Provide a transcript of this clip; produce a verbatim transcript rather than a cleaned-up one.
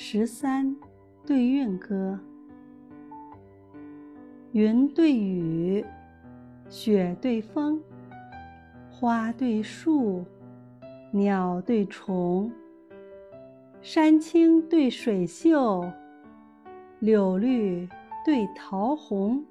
十三对韵歌。云对雨，雪对风，花对树，鸟对虫，山青对水秀，柳绿对桃红。